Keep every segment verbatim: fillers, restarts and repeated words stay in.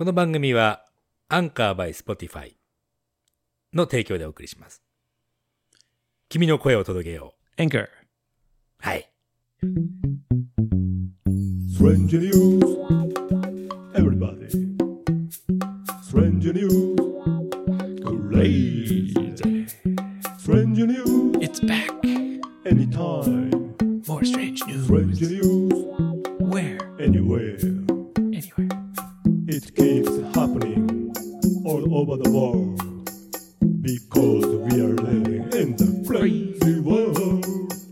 この番組はアンカー by Spotify の提供でお送りします。君の声を届けよう。Anchor。 はい。 Strange news, everybody. Strange news, crazy. Strange news, It's back. anytime. More strange news. Strange news, Where? anywhere. Anywhere. It keeps happening all over the world because we are living in the crazy world.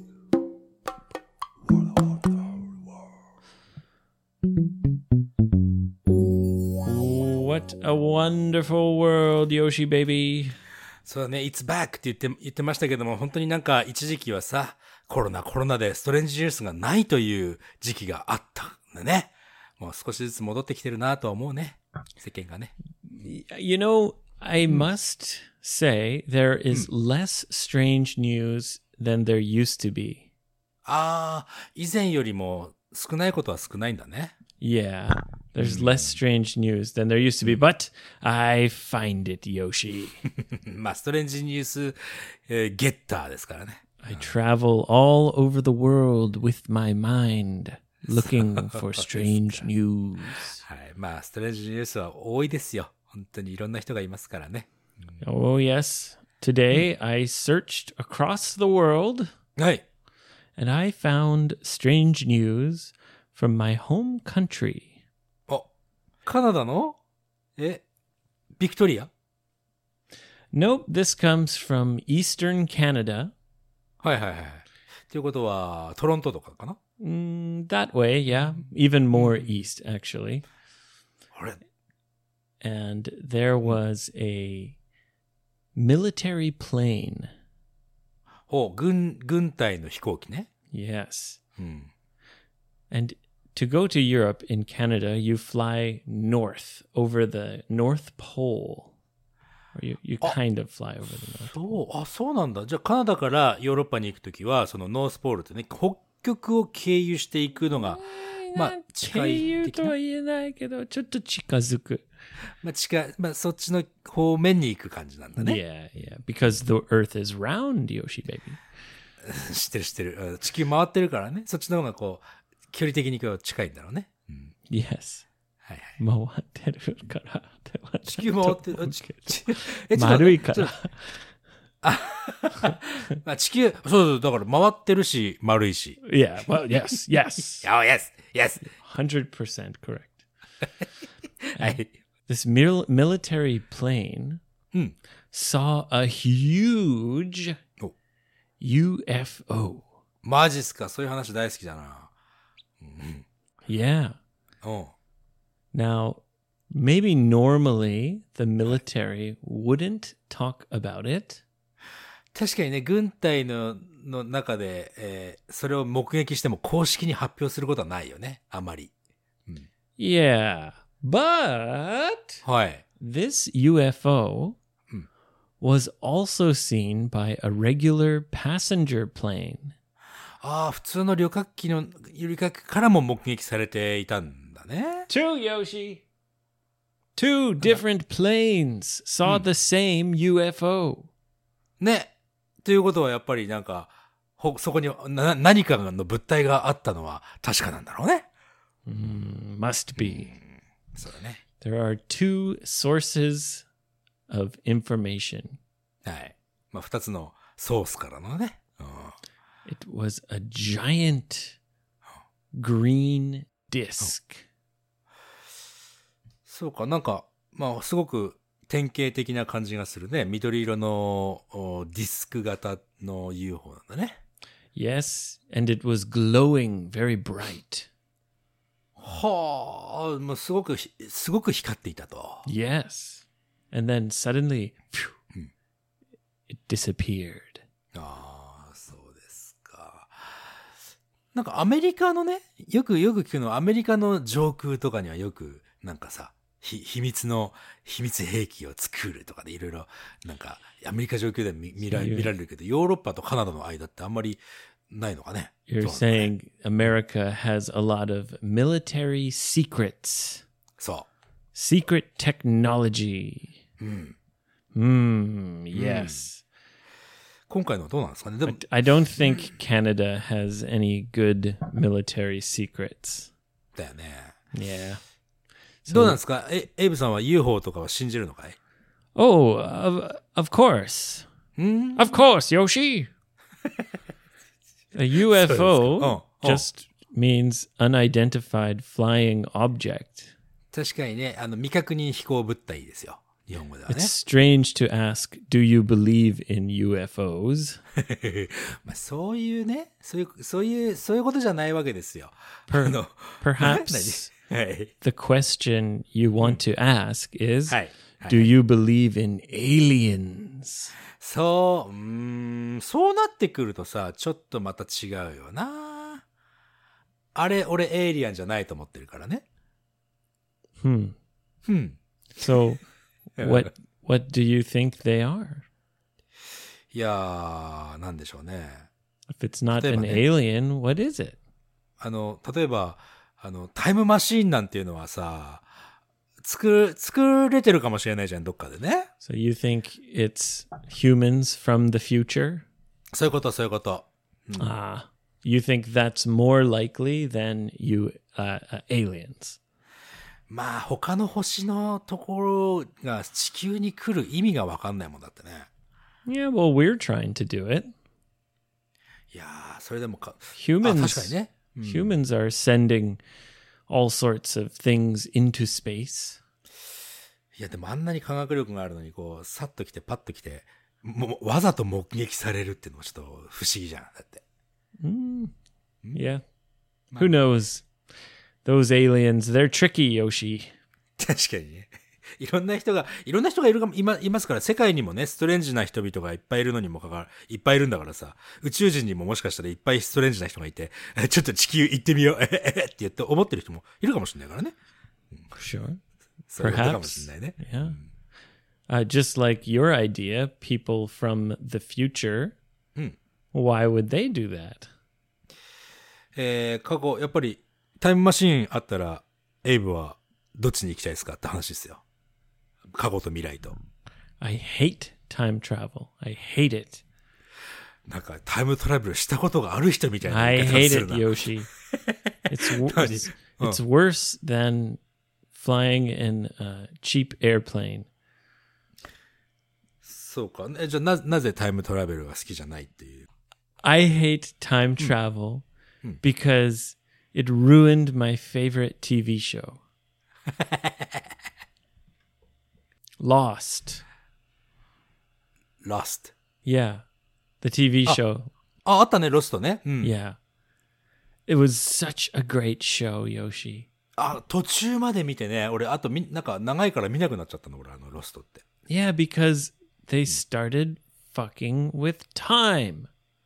What a wonderful world, Yoshi baby. そうだね、It's back って言って、言ってましたけども、本当になんか一時期はさ、コロナコロナでストレンジニュースがないという時期があったんだね。もう少しずつ戻ってきてるなとは思うね。世間がね。 You know, I must say there is less strange news than there used to be. ああ、以前よりも少ないことは少ないんだね。 Yeah, there's less strange news than there used to be, but I find it, Yoshi. まあ、ストレンジニュース、えー、ゲッターですからね。 I travel all over the world with my mind, looking for strange news. はい。まあ、ストレンジニュースは多いですよ。本当にいろんな人がいますからね。 Oh, yes. Today I searched across the world はい。 and I found strange news from my home country. お、カナダのえ、ビクトリア Nope, this comes from Eastern Canada. はいはいはい。ということは、トロントとかかな Mm, that way, yeah. Even more east, actually. あれ And there was a military plane. ほう、軍、軍隊の飛行機ね。 Yes. うん。 And to go to Europe in Canada, you fly north over the North Pole. Or you, you kind of fly over the North Pole. そう、あ、そうなんだ。じゃあカナダからヨーロッパに行くときは、そのノースポールってね、北極を経由していくのが、まあ、近い的な。まあ、近い、まあ、そっちの方面に行く感じなんだね。 Yeah, yeah. Because the Earth is round, Yoshi baby. 知ってる知ってる。地球回ってるからね。そっちの方がこう、距離的にこう近いんだろうね。うん、 Yes. はいはい。 回ってるからっては地球回ってる。ちちえ丸いから。 あまあ、地球、そうそう、だから回ってるし、丸いし。 Yeah, well, yes, yes. Oh, yes, yes. one hundred percent correct. はい。 This mil- military plane うん。 saw a huge お U F O. マジっすか、そういう話大好きだな。 Yeah. うん。 Now, maybe normally the military wouldn't talk about it. 確かにね、軍隊の、の中で、えー、それを目撃しても公式に発表することはないよね。あまり。 Yeah. But はい。 this U F O Hmm. was also seen by a regular passenger plane. ああ、普通の旅客機の、旅客からも目撃されていたんだね。 Two, Yoshi. Two different planes saw the same U F O. ね。ということはやっぱりなんか、ほそこにな何かの物体があったのは確かなんだろうね。 Mm, must be. そうだね。 There are two sources of information. はい。まあ、二つのソースからのね。うん、 It was a giant green disc. そうか、なんか、まあ、すごく典型的な感じがするね。緑色のおディスク型の ユーフォー なんだね。 Yes, and it was glowing very bright. はあ、もうすごくひ、すごく光っていたと。 Yes. And then suddenly, phew, it disappeared. ああ、そうですか。なんかアメリカのね、よくよく聞くのはアメリカの上空とかにはよく、なんかさ、ひ秘密の、秘密兵器を作るとかでいろいろ、なんか、アメリカ上空で見見ら見られるけど、ヨーロッパとカナダの間ってあんまりないのかね。 You're そうなんだね。 saying America has a lot of military secrets. そう。 secret technology. うん。 Hmm, yes. 今回のはどうなんですかね。でも、 I don't think Canada has any good military secrets. だよね。 Yeah. どうなんですかえ、エイブさんは ユーフォー とかは信じるのかい Oh, of, of course. うん Of course, Yoshi. A U F そう O ですか。うん。うん。 just means unidentified flying object. 確かにね、あの、未確認飛行物体ですよ。日本語ではね It's。strange to ask, do you believe in U F Os? まあ、そういうね、そういう、そういう、そういうことじゃないわけですよ。 Per- あの、 perhaps 何はい。 the question you want to ask is, はい。はい do you believe in aliens? そう、うーん、そうなってくるとさ、ちょっとまた違うよな。あれ、俺エイリアンじゃないと思ってるからね。 Hmm. うん。 So what what do you think they are? いやー、なんでしょうね。 If it's not 例えば an ね。 alien, what is it? あの、例えば、あの、タイムマシーンなんていうのはさ、作る、作れてるかもしれないじゃん、どっかでね。 So you think it's humans from the future? そういうこと、そういうこと。 Ah, you think that's more likely than you uh, uh, aliens? まあ、他の星のところが地球に来る意味がわかんないもんだってね。 Yeah, well, we're trying to do it. いやー、それでもか、あ、 Humans, 確かにね。 humans are sending all sorts of things into space. いや、でもあんなに科学力があるのに、こう、さっと来て、パッと来て、もう、わざと目撃されるっていうのもちょっと不思議じゃん。だって。 Yeah. Who knows? Those aliens, they're tricky, Yoshi. 確かにね。いろんな人が、いろんな人がいるかも、いま、いますから、世界にもね、ストレンジな人々がいっぱいいるのにもかかわら、いっぱいいるんだからさ、宇宙人にももしかしたらいっぱいストレンジな人がいて、えちょっと地球行ってみよう、えええって言って思ってる人もいるかもしれないからね。 Sure. そういうことかも Perhaps. しれないね。 Yeah. Uh, just like your idea, people from the future, why would they do that? えー、過去、やっぱり、タイムマシーンあったら、エイブはどっちに行きたいですかって話ですよ。過去と未来と。 I hate time travel. I hate it. なんか、タイムトラベルしたことがある人みたいな I 言い方 hate する it, な。 Yoshi. It's wo- 何？ it's, it's worse than flying in a cheap airplane. そうか。えじゃあな、なぜタイムトラベルが好きじゃないっていう。 I hate time travel because it ruined my favorite T V show. Lost. Lost。 Yeah. The T V show. あ、あったね、ロストね。うん。 Yeah. It was such a great show, Yoshi. あ、途中まで見てね、俺、あとみ、なんか長いから見なくなっちゃったの、俺、あの、ロストって。 Yeah, because they started fucking with time.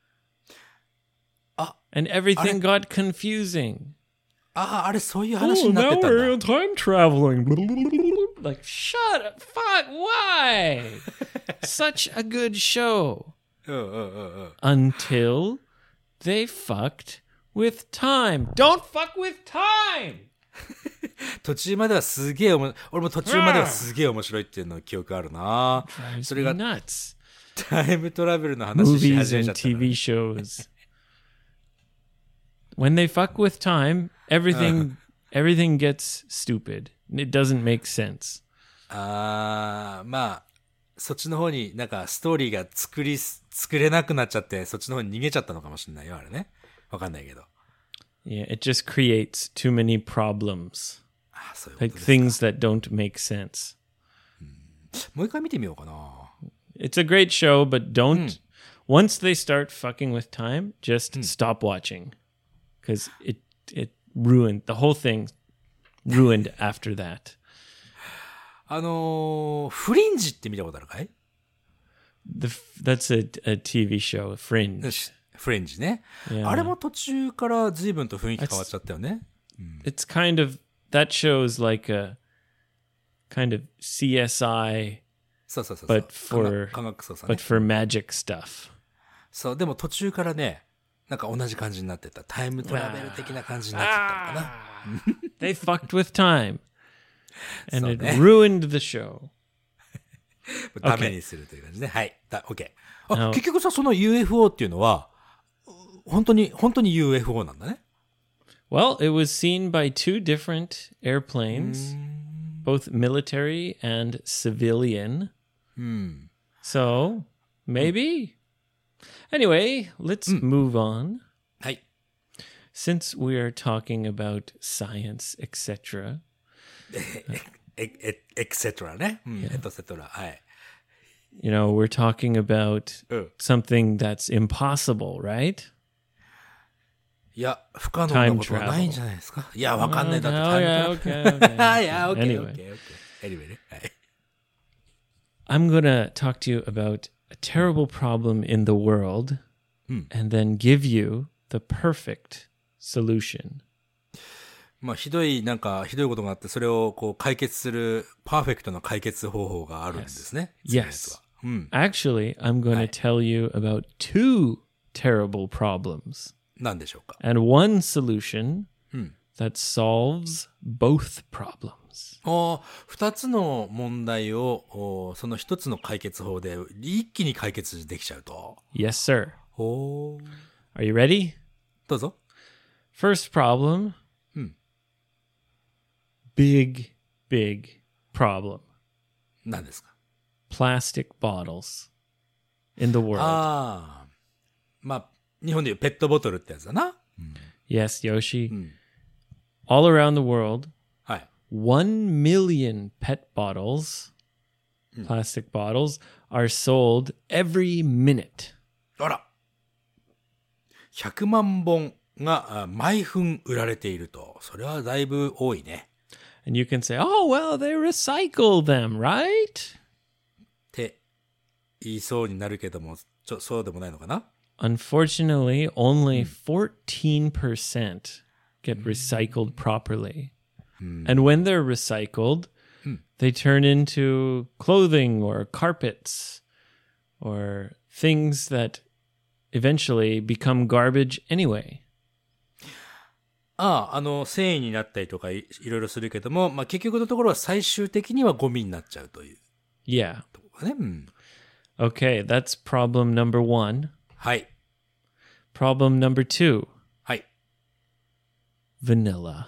Ah, and everything got confusing. ああ、あれ、そういう話になってたんだ。 time traveling. Like, shut up. Fuck, why? Such a good show. うんうんうんうん。 Until they fucked with time. Don't fuck with time! 途中まではすげえおも、俺も途中まではすげえ面白いっていうの記憶あるな。 Drives それ me が nuts. タイムトラベルの話し Movies 始め and ちゃったな。 T V shows. When they fuck with time, everything everything gets stupid. It doesn't make sense. あー、まあ、そっちの方になんかストーリーが作り、作れなくなっちゃって、そっちの方に逃げちゃったのかもしれないよ、あれね。わかんないけど。 Yeah, it just creates too many problems. あー、そういうこ Like とです。 things that don't make sense. もう一回見てみようかな。 It's a great show, but don't once they start fucking with time, just stop watching. Because it it ruined the whole thing ruined after that. あのー、フリンジって見たことあるかい？ The that's a, a T V show, Fringe. フレンジね。 Yeah. あれも途中から随分と雰囲気変わっちゃったよね。 It's kind of that show's like a kind of C S I そうそうそうそう。 but for 科学捜査ね but。for magic stuff. そう、でも途中からね、なんか同じ感じになってた。タイムトラベル的な感じになってたのかな。 They fucked with time. And it そうね ruined the show. ダメにするという感じね。はい。だ、OK。あ、 Now- 結局さ、その ユーエフオー っていうのは、本当に、本当に ユーエフオー なんだね。 Well, it was seen by two different airplanes, both military and civilian. So, maybe. Anyway, let's move on. はい。 Since we are talking about science, et cetera, え、え、エクセトラね。うん、エトセトラ。はい。 you know, we're talking about うん。 something that's impossible, right? いや、不可能なことはないんじゃないですか。いや、わかんない。だって Oh, タイム yeah, ト okay, ラベル okay. いや、OK、 Anyway. OK、OK。Anyway ね。はい。 I'm going to talk to you about a terrible problem in the world and then give you the perfect solution. まあ、ひどい、なんか、ひどいことがあって、それをこう解決する、パーフェクトな解決方法があるんですね。 Yes. 次のやつは。うん。 Actually, I'm going to tell you about two terrible problems 何でしょうか。 and one solution that solves both problems. お二つの問題を、おその一つの解決法で一気に解決できちゃうと。 Yes, sir. おー Are you ready? どうぞ。 First problem. Big, big problem. 何ですか。 Plastic bottles in the world. ああ。まあ、日本でいうペットボトルってやつだな。 Yes, Yoshi. All around the world, はい。 one million pet bottles, plastic bottles, are sold every minute. あら。ひゃくまんぼんがあ毎分売られていると。それはだいぶ多いね。 And you can say, oh, well, they recycle them, right? って言いそうになるけども、ちょ、そうでもないのかな。 Unfortunately, only fourteen percent get recycled properly. And when they're recycled, they turn into clothing or carpets or things that eventually become garbage anyway. ああ、あの、繊維になったりとかい、いろいろするけども、まあ、結局のところは最終的にはゴミになっちゃうという Yeah. ところね。うん。 Okay, that's problem number one. はい。 Problem number two, はい。 vanilla.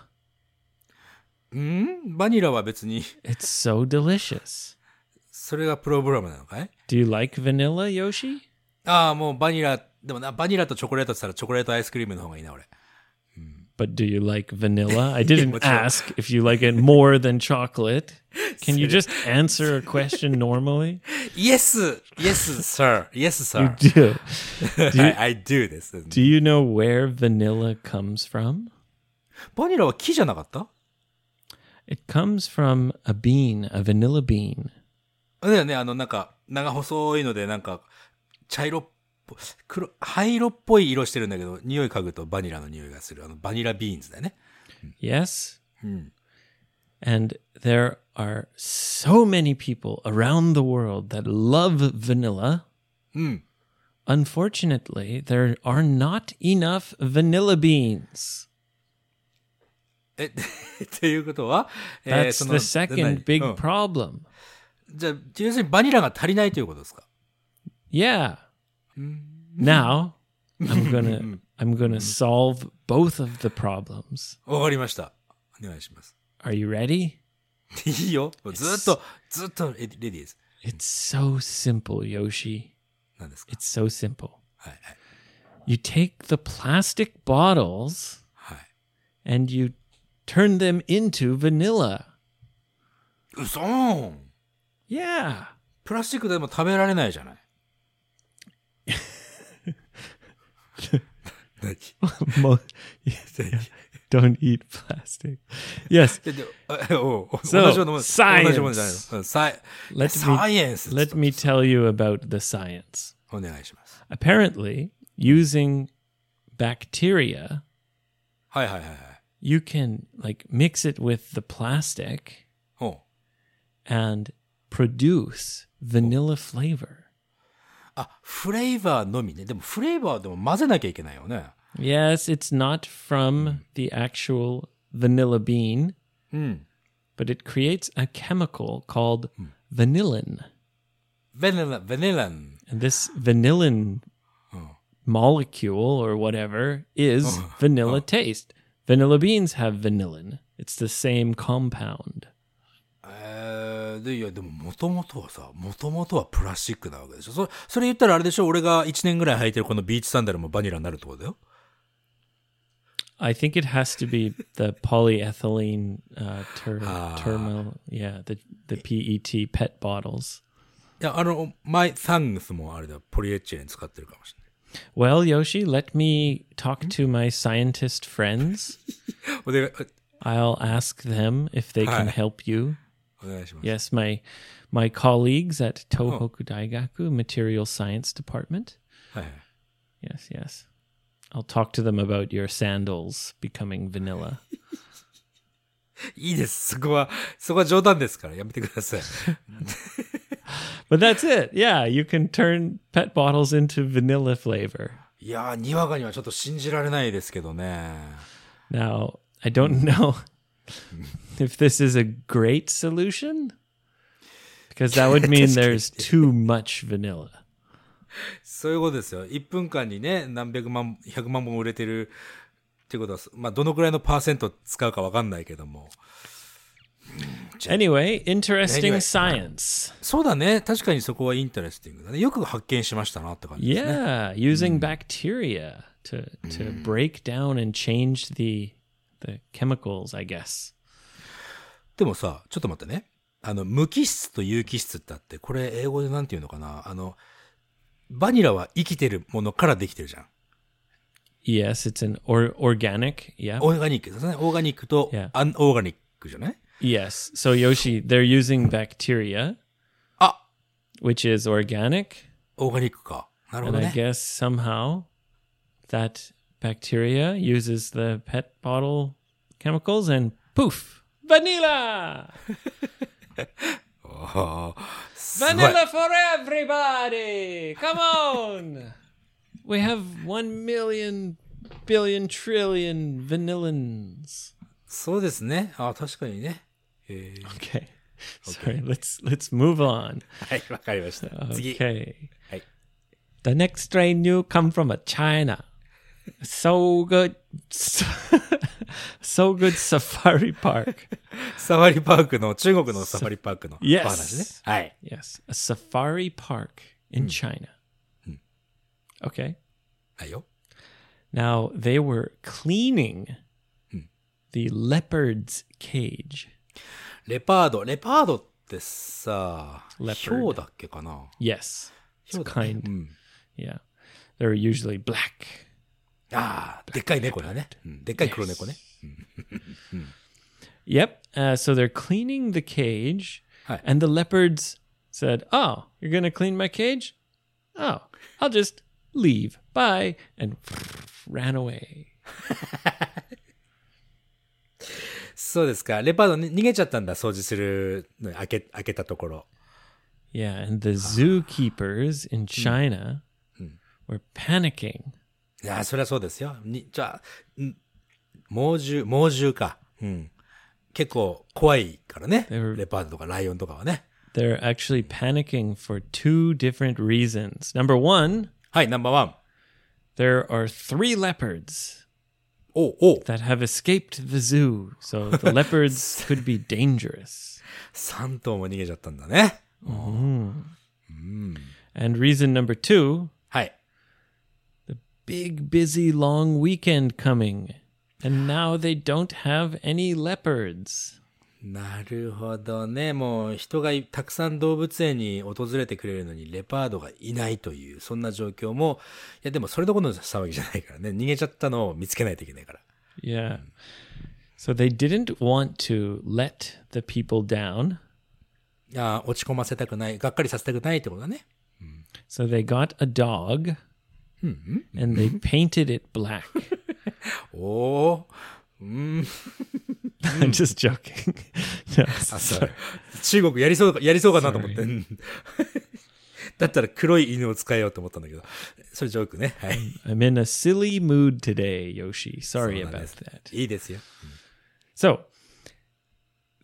んバニラは別に、 It's so delicious. それがプログラムなのかい？ Do you like vanilla, Yoshi? ああ、もうバニラ、でもな、バニラとチョコレートって言ったらチョコレートアイスクリームの方がいいな、俺。 But do you like vanilla? I didn't what's wrong? ask if you like it more than chocolate. Can you just answer a question normally? Yes! Yes, sir. Yes, sir. You do. はい、I do です。 Do you know where vanilla comes from? バニラは木じゃなかった？ It comes from a bean, a vanilla bean. だよね、あの、なんか、長細いので、なんか、茶色っぽ、黒、灰色っぽい色してるんだけど、匂い嗅ぐとバニラの匂いがする。あの、バニラビーンズだよね。 Yes? And there are so many people around the world that love vanilla. Unfortunately, there are not enough vanilla beans. え、っていうことは、えー That's そ the の second 何 big うん problem. じゃあ、要するにバニラが足りないということですか？ Yeah. Now, I'm gonna I'm gonna solve both of the problems. わかりました。お願いします。 Are you ready? いいよ。もうずっと、ずっとレディレディーです。 It's so simple, Yoshi. 何ですか？ It's so simple. はい、はい。 You take the plastic bottles はい。 and you turn them into vanilla. うそーん。 Yeah. プラスチックでも食べられないじゃない。何 Mo- Don't eat plastic. Yes. でであおう So, 同じようなもん science. 同じものじゃないの。うんサイ Let me- サイエンス。 Let me tell you about the science. お願いします。 Apparently, using bacteria, はいはいはいはい。 you can like mix it with the plastic おう and produce vanilla flavor. あ、フレーバーのみね。でもフレーバーでも混ぜなきゃいけないよね。 Yes, it's not from the actual vanilla bean, うん。 but it creates a chemical called vanillin. vanilla, vanillin. And this vanillin molecule or whatever is vanilla taste. Vanilla beans have vanillin. It's the same compound. えー、で、いや、でも、もともとはさ、もともとはプラスチックなわけでしょ。そ、それ言ったらあれでしょ、俺がいちねんぐらい履いてるこのビーチサンダルもバニラになるってことだよ。 I think it has to be the polyethylene uh, ter- terminal, yeah, the the P E T pet bottles. いや、あの、マイサングスもあれだ、ポリエチレン使ってるかもしれない。 Well, Yoshi, let me talk to my scientist friends. お願い、 I'll ask them if they can help you. お願いします。 Yes, my my colleagues at Tohoku Daigaku Material Science Department. はいはい。 Yes, yes. I'll talk to them about your sandals becoming vanilla. いいです。そこは、そこは冗談ですから、やめてください。 But that's it. Yeah, you can turn pet bottles into vanilla flavor. いやー、にわかにはちょっと信じられないですけどね。 Now, I don't know if this is a great solution, because that would mean there's too much vanilla. そういうことですよ。いっぷんかんにね、何百万、ひゃくまん本売れてるってことは、まあ、どのくらいのパーセント使うかわかんないけども。 Anyway, interesting Anyway. science. そうだね。確かにそこはインタレスティングだね。よく発見しましたなって感じですね。 Yeah, using bacteria to to break down and change the the chemicals, I guess. でもさ、ちょっと待ってね。あの、無機質と有機質ってあって、これ英語でなんていうのかな。あの、バニラは生きてるものからできてるじゃん。 Yes, it's an or, organic. Yeah. オーガニックですね。オーガニックと Yeah. アンオーガニックじゃない？ Yes. So Yoshi, they're using bacteria, あ、 which is organic, オーガニックか。なるほ and ど I ね。 guess somehow that bacteria uses the pet bottle chemicals and poof, vanilla. あーすごい Vanilla for everybody! Come on! We have one million billion trillion vanillins. そうですね。あ、確かにね。えー Okay. Sorry, let's let's move on. はい、わかりました。次。 Okay. はい。 The next train new come from a China. So good. So, so good safari park. サファリパークの、中国のサファリパークのお Yes. 話ね。はい。 Yes, a safari park in China. Okay. はいよ。 Now, they were cleaning the leopard's cage. レパード。レパードってさ、 Leopard. ヒョウだっけかな？ Yes. ヒ It's ョウだね。 kind. うん。 Yeah. They're usually black. ああ、でっかい猫だね。うん、でっかい黒猫ね。 Yep. Uh, so they're cleaning the cage, Hi. and the leopards said, "Oh, you're going to clean my cage? Oh, I'll just leave. Bye." And ran away. そうですか。レパードに逃げちゃったんだ。掃除するの開け、開けたところ。 Yeah, and the zookeepers in China were panicking. いやー、そりゃそうですよ。に、じゃあ、ん猛獣、猛獣か。うん。結構怖いからね。 were- レパードとかライオンとかはね。 They're actually panicking for two different reasons. Number one, はい、ナンバーワン。 there are three leopards おう、おう。 that have escaped the zoo, so the leopards could be dangerous. 三頭も逃げちゃったんだね。 And reason number two, はい。 big, busy, long weekend coming. And now they don't have any leopards. なるほどね。もう人がいたくさん動物園に訪れてくれるのにレパードがいないという、そんな状況も、いやでもそれどころの騒ぎじゃないからね。逃げちゃったのを見つけないといけないから。 Yeah. So they didn't want to let the people down. いや落ち込ませたくない、がっかりさせたくないってことだね。 So they got a dog and they painted it black. おー。うーん。 I'm just joking. No, あ、そう。中国やりそうか、やりそうかなと思って。うんだったら黒い犬を使えようと思ったんだけど。それジョークね。はい。 I'm in a silly mood today, Yoshi. Sorry そうなんで about す that. いいですよ。 So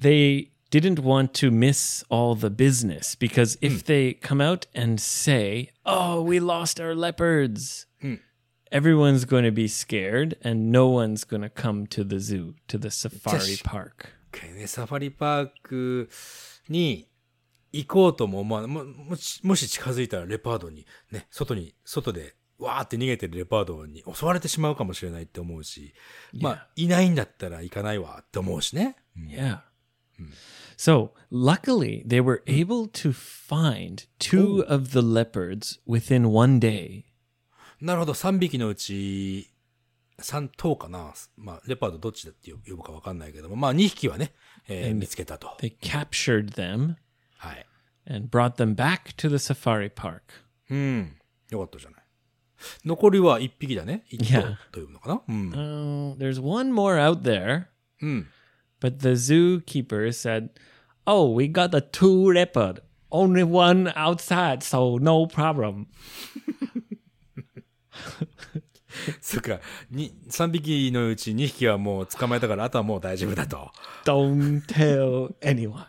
they didn't want to miss all the business because if they come out and say, oh, we lost our leopards, everyone's going to be scared and no one's going to come to the zoo, to the safari park. Okay, ね、サファリパークに行こうとも、まあ、も、もし、もし近づいたらレパードに、ね、外に、外で、わーって逃げてるレパードに襲われてしまうかもしれないって思うし、まあ、いないんだったら行かないわって思うしね。 Yeah. So, luckily, they were able to find two of the leopards within one day. なるほど、さんびきのうち、さん頭かな。まあ、レパードどっちだって呼ぶかわかんないけども、まあ、にひきはね、えー、見つけたと。 They captured them はい。 and brought them back to the safari park. うん。よかったじゃない。残りはいっぴきだね。いっ頭というのかな。うん。 Uh, there's one more out there. うん。 But the zookeeper said, oh, we got the two leopard. Only one outside, so no problem. そっか、に、さんびきのうちにひきはもう捕まえたから、あとはもう大丈夫だと。 Don't tell anyone.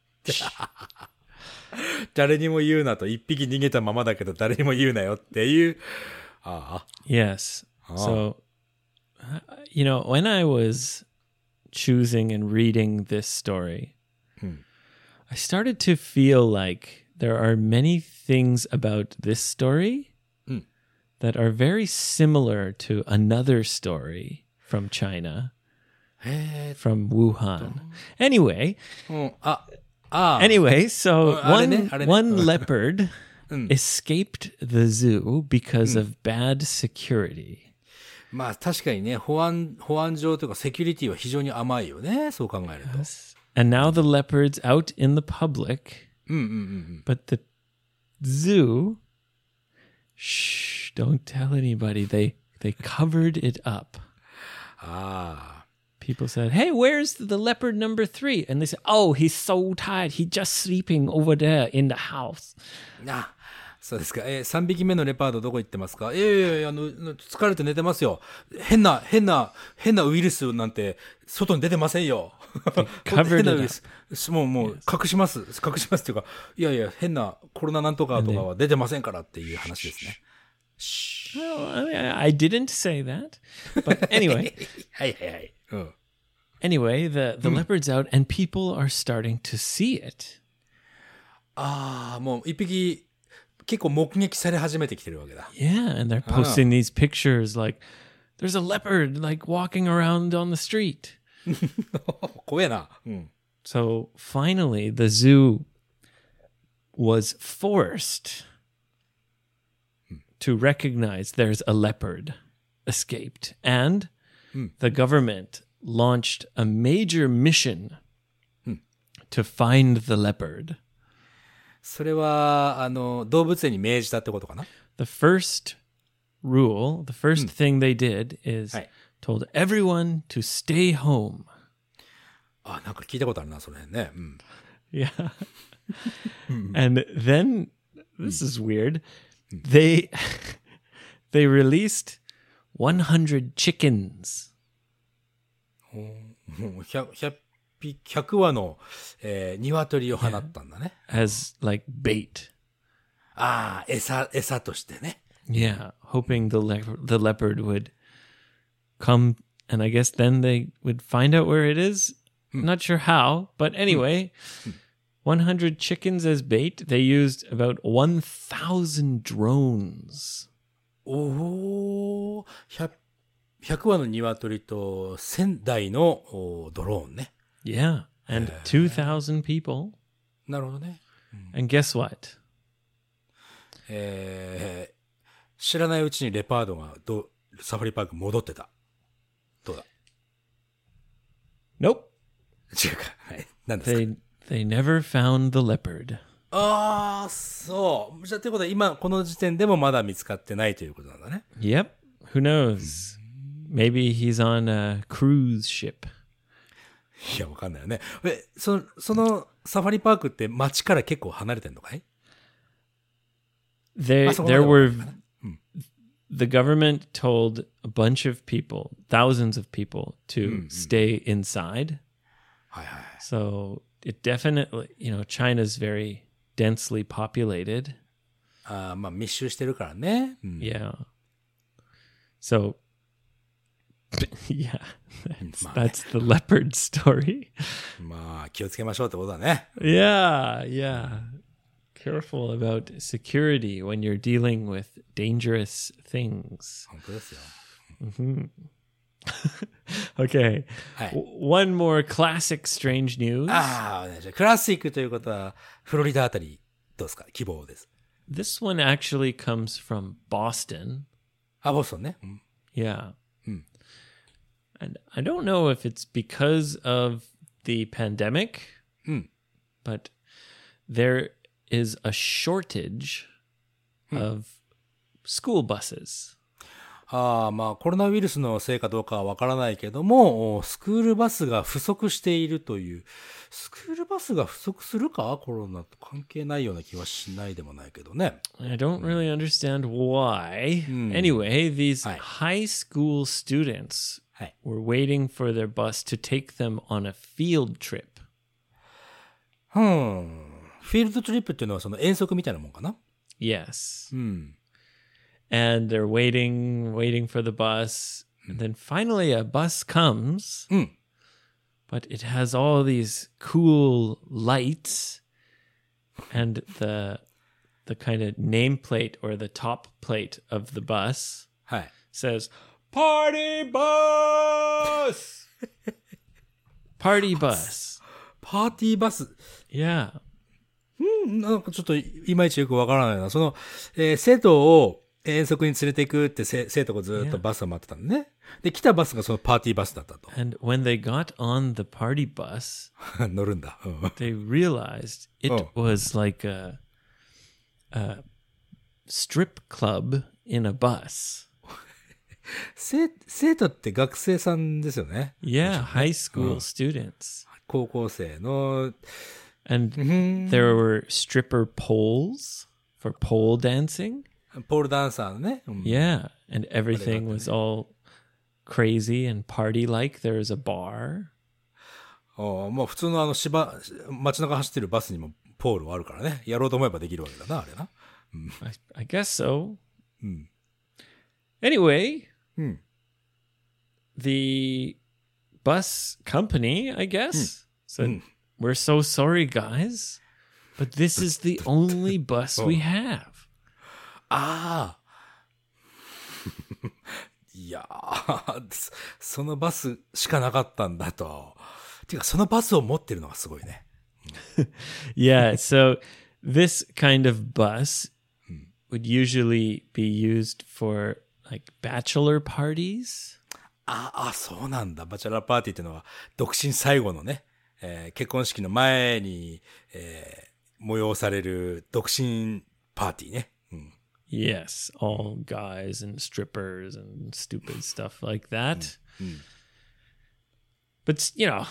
誰にも言うなと、いっぴき逃げたままだけど誰にも言うなよっていう。ああ。 Yes. So, you know, when I was choosing and reading this story, I started to feel like there are many things about this story that are very similar to another story from China, from Wuhan. Anyway, anyway, so one, one leopard escaped the zoo because of bad security. まあ確かにね、保安、保安上というかセキュリティは非常に甘いよね。そう考えると。 And now the leopard's out in the public. But the zoo, shh, don't tell anybody. They they covered it up. Ah. People said, hey, where's the leopard number three? And they said, oh, he's so tired. He's just sleeping over there in the house. あ、そうですか。えー、さんびきめのレパードどこ行ってますか？いやいやいや、あの、疲れて寝てますよ。変な、変な、変なウイルスなんて外に出てませんよ。変なウイルス。もう、もう、隠します。隠しますっていうか、いやいや、変なコロナなんとかとかは出てませんからっていう話ですね。 Well, I didn't say that. But anyway. はいはいはい。うん。 Anyway, the, the leopard's out and people are starting to see it. ああ、もう一匹結構目撃され始めてきてるわけだ。 Yeah, and they're posting these pictures like, there's a leopard like walking around on the street. 怖えな。うん。 So finally, the zoo was forced to recognize there's a leopard escaped. And the government launched a major mission to find the leopard. それは、あの、動物園に命じたってことかな？ The first rule, the first thing they did is told everyone to stay home. あ、なんか聞いたことあるな、それね。うん。 Yeah. And then, this is weird, they, they released one hundred chickens. ひゃく、ひゃくひゃくわの、えー、鶏を放ったんだね。 As like bait. ああ、餌、餌としてね。 Yeah, hoping the le- the leopard would come, and I guess then they would find out where it is. Not sure how, but anyway, one hundred chickens as bait. They used about one thousand drones. おお、ひゃく、ひゃくわの鶏とせんだいのドローンね。 Yeah, and two thousand people. なるほどね。 And guess what? えー、知らないうちにレパードがどサファリパーク戻ってた。どうだ？ Nope. 違うか。はい。何ですか？ They they never found the leopard. ああ、そう。じゃあということは今この時点でもまだ見つかってないということなんだね。 Yep. Who knows? Maybe he's on a cruise ship. いや、わかんないよね。え、その、そのサファリパークって街から結構離れてんのかい？ There, there were, the government told a bunch of people, thousands of people, to stay inside. So it definitely, you know, China's very densely populated. あーまあ密集してるからね。うん、 Yeah. So, yeah, that's, that's the leopard story. まあ気をつけましょうってことだね。 Yeah, yeah. Careful about security when you're dealing with dangerous things. 本当ですよ。 Okay. はい。 W- one more classic strange news. ああ、じゃあクラシックということはフロリダあたりどうですか？希望です。 This one actually comes from Boston. あ、ボストンね。うん、 Yeah. And I don't know if it's because of the pandemic, but there is a shortage of school buses. ああ、まあコロナウイルスのせいかどうかはわからないけども、スクールバスが不足しているという。スクールバスが不足するか？コロナと関係ないような気はしないでもないけどね。 I don't really understand why. Anyway, these high school students はい。 were waiting for their bus to take them on a field trip. ふん。フィールドトリップっていうのはその遠足みたいなもんかな？ Yes. うん。 And they're waiting, waiting for the bus. And then finally a bus comes. うん。 But it has all these cool lights, and the the kind of nameplate or the top plate of the bus はい。 says "Party Bus." Party bus. パーティーバス。 Yeah. なんかちょっといまいちよくわからないな。その、えー生徒を遠足に連れて行くってせ生徒がずっとバスを待ってたのね。で、来たバスがそのパーティーバスだったと。 And when they got on the party bus, 乗るんだ。うん they realized it Oh. was like a a strip club in a bus. 生生徒って学生さんですよね。 Yeah, high school students. 高校生の、 And there were stripper poles for pole dancing. ポールダンサーのね。うん Yeah. And everything was all crazy and party like. There was a bar. ああまあ普通のあの芝、街中走ってるバスにもポールはあるからね。やろうと思えばできるわけだな、あれな。 I, I guess so. Anyway, Hmm. the bus company, I guess, said, "We're so sorry, guys, but this is the only bus we have." ああ。いやー、そのバスしかなかったんだと。てか、そのバスを持ってるのがすごいね。 Yeah, so this kind of bus would usually be used for like bachelor parties. ああ、そうなんだ。バチェラーパーティーっていうのは、独身最後のね、えー結婚式の前に、えー催される独身パーティーね。うん、 Yes, all guys and strippers and stupid stuff like that. But, you know,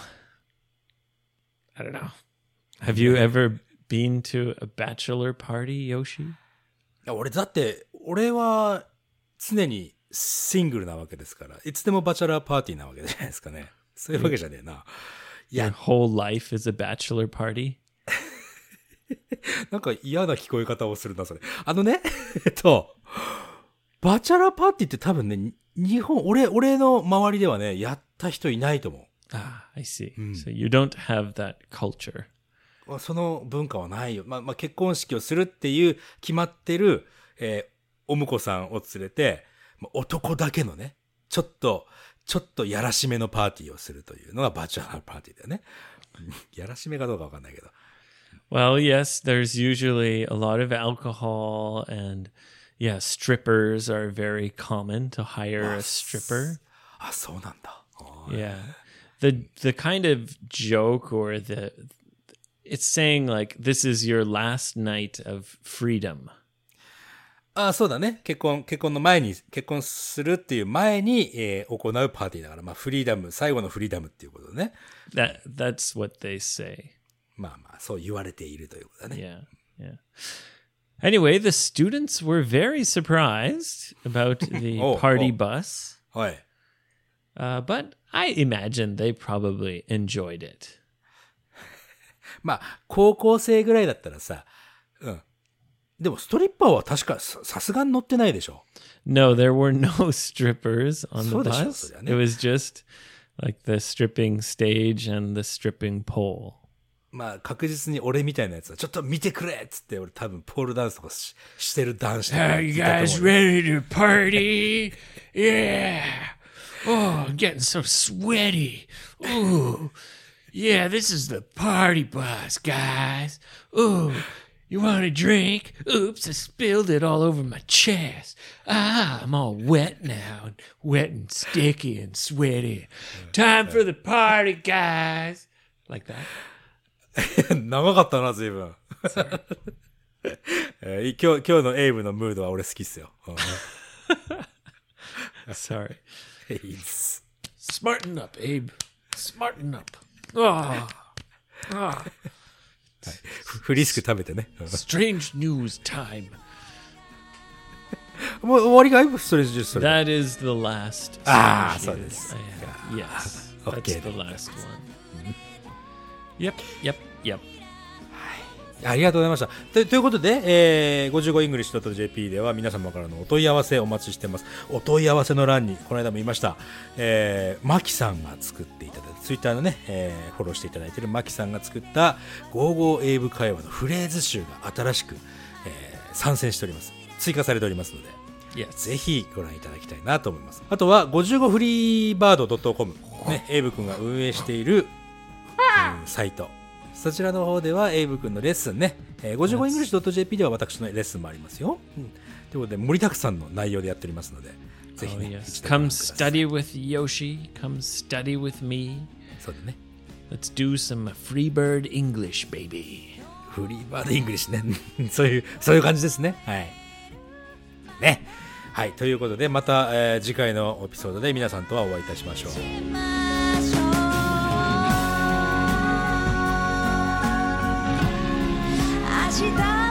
I don't know. Have you ever been to a bachelor party, Yoshi? いや俺だって、俺は常にシングルなわけですから、いつでもバチェラーパーティーなわけじゃないですかね。そういうわけじゃねえな。い Your や、 whole life is a bachelor party? なんか嫌な聞こえ方をするな、それ。あのね、えっと、バチェラーパーティーって多分ね、日本、俺、俺の周りではね、やった人いないと思 Ah, I see. So you don't have that culture. う。その文化はないよ。まあ、まあ、結婚式をするっていう決まってる、えーお婿さんを連れて、まあ男だけのね、ちょっと、ちょっとやらしめのパーティーをするというのがバチェラーパーティーだよね。やらしめかどうかわかんないけど。 Well, yes, there's usually a lot of alcohol and yeah, strippers are very common to hire a stripper. あ、そうなんだ。あ Yeah. The the kind of joke or the it's saying like this is your last night of freedom. あ、そうだね。結婚、結婚の前に、結婚するっていう前に、えー行うパーティーだから、まあ、フリーダム、最後のフリーダムっていうことね。 That that's what they say. まあまあ、そう言われているということだね。 Yeah. Yeah. Anyway, the students were very surprised about the Oh, party oh. bus. はい。 Uh, but I imagine they probably enjoyed it. まあ、高校生ぐらいだったらさ、うん。でも、ストリッパーは確かさ、さすがに乗ってないでしょ。 No, there were no strippers on the そうでしょ、 bus. そりゃね。 It was just like the stripping stage and the stripping pole. まあ、確実に俺みたいなやつは、ちょっと見てくれっつって、俺多分ポールダンスとか し, してる男子とか。 Are you guys ready to party? Yeah. Oh, I'm getting so sweaty. Ooh. Yeah, this is the party bus, guys. Ooh, you want a drink? Oops, I spilled it all over my chest. Ah, I'm all wet now. Wet and sticky and sweaty. Time for the party, guys. Like that. 長かったな、随分。えー今日、今日のエイブのムードは俺好きっすよ。 Sorry. いいです。 Smarten up, Abe. Smarten up. Ah. Ah. フリスク食べてね。 Strange news time. もう終わりかいそれじゃそれ。 That is the last. Ah, strange so news this- I have. Yes. Okay. That's the last one. Yep, yep, yep. ありがとうございました。と, ということで、えー、ごじゅうごイングリッシュドットジェーピー では皆様からのお問い合わせお待ちしてます。お問い合わせの欄に、この間も言いました、えー、マキさんが作っていただいた、ツイッターのね、えー、フォローしていただいているマキさんが作ったゴーゴー英語会話のフレーズ集が新しく、えー、参戦しております。追加されておりますので、 Yes. ぜひご覧いただきたいなと思います。あとは、ごじゅうごフリーバードドットコム、ね、エイブ君が運営している、うん、サイト。そちらの方ではエイブ君のレッスンね、えー、ごじゅうごイングリッシュドットジェーピー では私のレッスンもありますよ。うん、ということで盛りだくさんの内容でやっておりますので、ぜひ、ね Oh, yes. 一度ご覧 Come ください。 study with Yoshi. Come study with me. そうだね。 Let's do some Freebird English, baby. フリーバードイングリッシュね。そういう、そういう感じですね。はい。ね。はい。ということで、また、えー、次回のエピソードで皆さんとはお会いいたしましょう。 明日